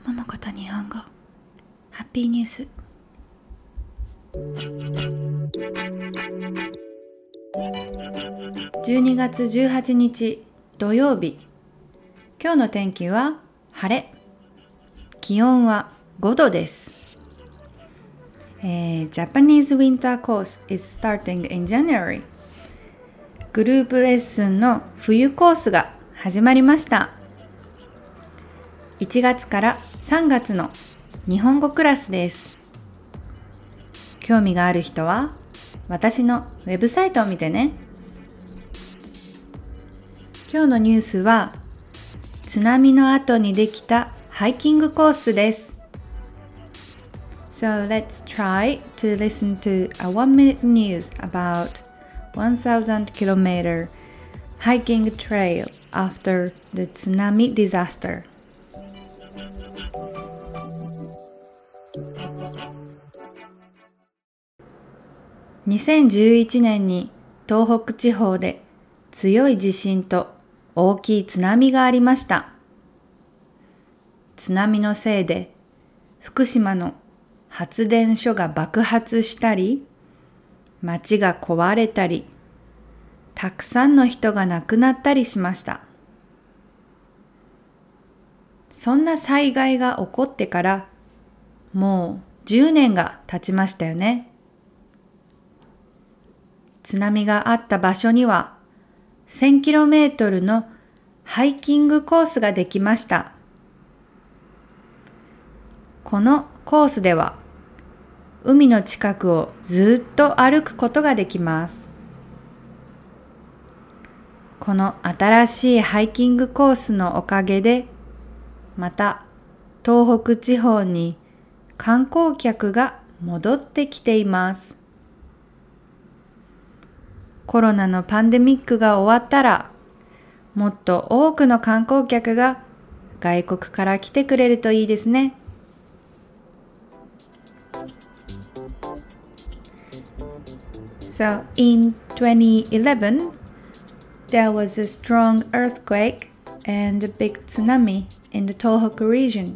もこと日本語ハッピーニュース。12月18日土曜日。今日の天気は晴れ。気温は5度です。Japanese winter course is starting in January。グループレッスンの冬コースが始まりました。1月から3月の日本語クラスです。興味がある人は私のウェブサイトを見てね。今日のニュースは津波の後にできたハイキングコースです。So let's try to listen to a 1-minute news about 1,000 kilometer hiking trail after the tsunami disaster. 2011年に東北地方で強い地震と大きい津波がありました。津波のせいで福島の発電所が爆発したり、町が壊れたり、たくさんの人が亡くなったりしました。そんな災害が起こってからもう10年が経ちましたよね。津波があった場所には 1000km のハイキングコースができました。このコースでは海の近くをずっと歩くことができます。この新しいハイキングコースのおかげで、また東北地方に観光客が戻ってきています。コロナのパンデミックが終わったら、もっと多くの観光客が外国から来てくれるといいですね。So in 2011, there was a strong earthquake and a big tsunami in the Tohoku region.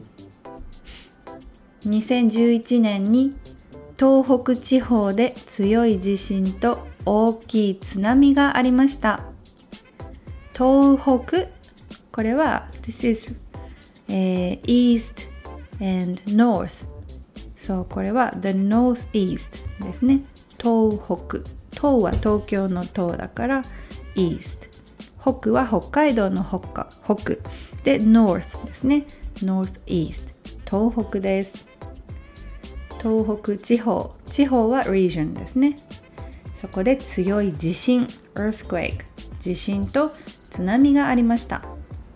2011年に東北地方で強い地震と大きい津波がありました。東北、これは This is、East and North。そう、これは The Northeast ですね。東北。東は東京の東だから East。北は北海道の北で North ですね。Northeast。東北です。東北地方。地方は region ですね。そこで強い地震 earthquake 地震と津波がありました。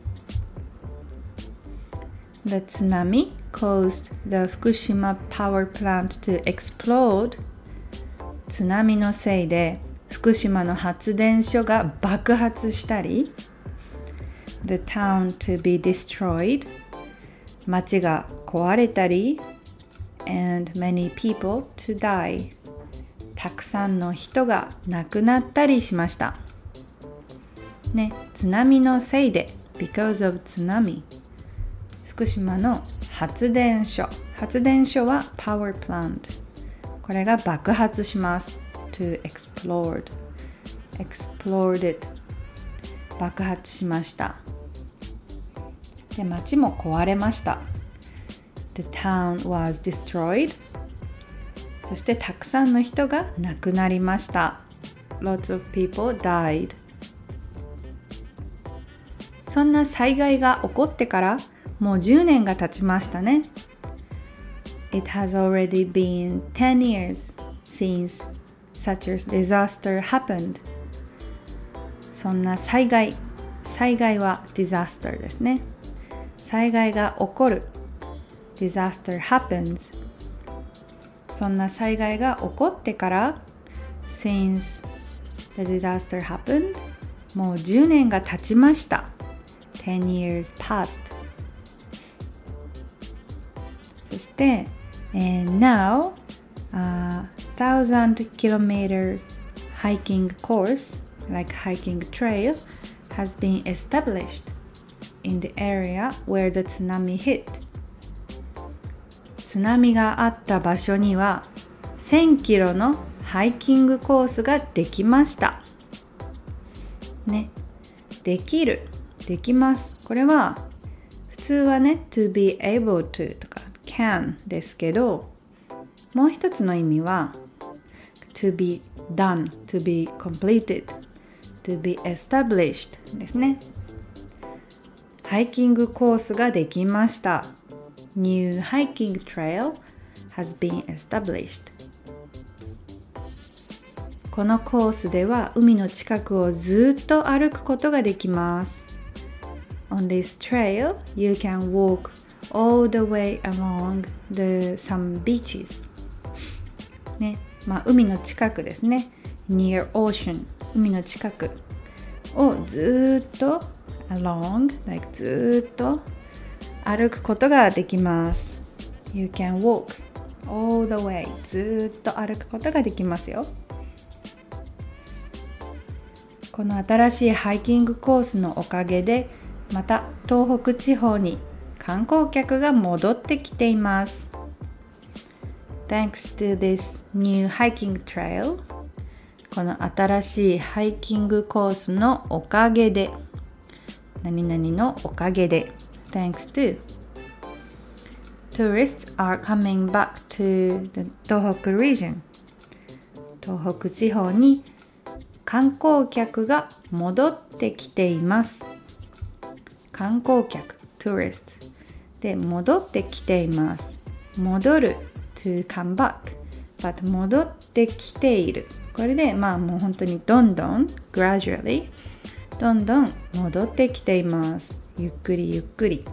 The tsunami caused the Fukushima power plant to explode. 津波のせいで福島の発電所が爆発したり The town to be destroyed 町が壊れたり and many people to dieたくさんの人が亡くなったりしました。ね、津波のせいで because of tsunami 福島の発電所は power plant これが爆発します。to exploded 爆発しました。で、町も壊れました。The town was destroyedそしてたくさんの人が亡くなりました。Lots of people died。そんな災害が起こってからもう10年が経ちましたね。It has already been 10 years since such a disaster happened。そんな災害は disaster ですね。災害が起こる。Disaster happens。そんな災害が起こってから Since the disaster happened もう10年が経ちました。10 years passed そして、Now1,000 kilometer hiking course like hiking trail has been established in the area where the tsunami hit 津波があった場所には1000キロのハイキングコースができましたね。できる、できます。これは普通はね to be able to とか can ですけど、もう一つの意味は to be done, to be completed, to be established ですね。ハイキングコースができました。New hiking trail has been established。 このコースでは海の近くをずっと歩くことができます。On this trail, you can walk all the way along some beaches。ね、海の近くですね。Near ocean、海の近くをずっと along、like ずっと歩くことができます。You can walk all the way、ずっと歩くことができますよ。この新しいハイキングコースのおかげで、また東北地方に観光客が戻ってきています。Thanks to this new hiking trail、 この新しいハイキングコースのおかげで、何々のおかげで、Thanks to tourists are coming back to the 東北 region、 東北地方に観光客が戻ってきています。観光客 tourist で戻ってきています。戻る to come back、 but 戻ってきている。これでもう本当にどんどん gradually どんどん戻ってきています。ゆっくりゆっくり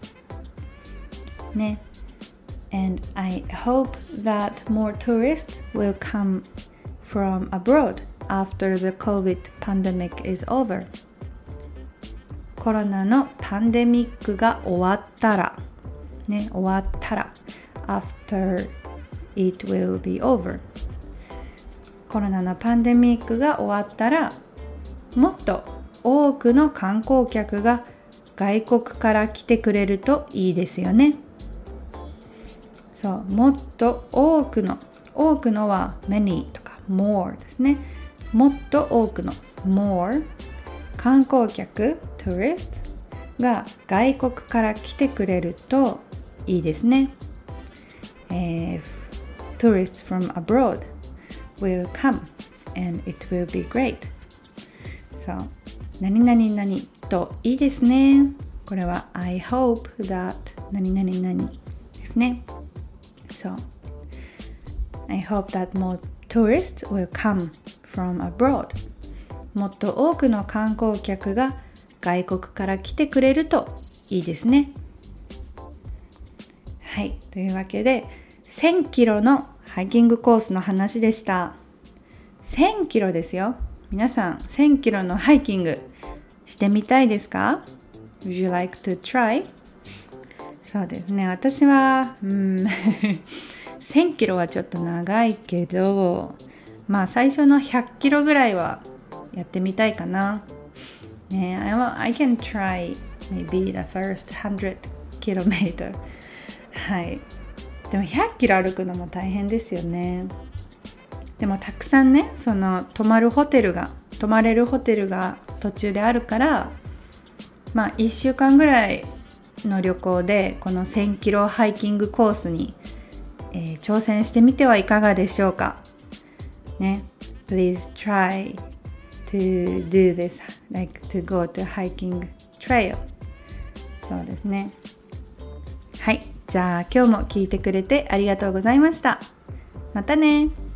ね。And I hope that more tourists will come from abroad after the COVID pandemic is over。 コロナのパンデミックが終わったらね、終わったら after it will be over。 コロナのパンデミックが終わったら、もっと多くの観光客が外国から来てくれるといいですよね。そう、もっと多くのは many とか more ですね。もっと多くの more 観光客 tourist が外国から来てくれるといいですね。Tourists from abroad will come and it will be great。 そう、何々々といいですね。これは I hope that 何々々ですね。そう、I hope that more tourists will come from abroad。 もっと多くの観光客が外国から来てくれるといいですね。はい、というわけで1000キロのハイキングコースの話でした。1000キロですよ。皆さん1000キロのハイキングしてみたいですか？ Would you like to try? そうですね、私は1000キロはちょっと長いけど、最初の100キロぐらいはやってみたいかな。ね、I can try maybe the first 100 kilometer。 はい。でも100キロ歩くのも大変ですよね。でもたくさんね、泊まれるホテルが途中であるから、1週間ぐらいの旅行でこの1000キロハイキングコースに、挑戦してみてはいかがでしょうかね。 Please try to do this, like to go to hiking trail。 そうですね。はい、じゃあ今日も聞いてくれてありがとうございました。またね。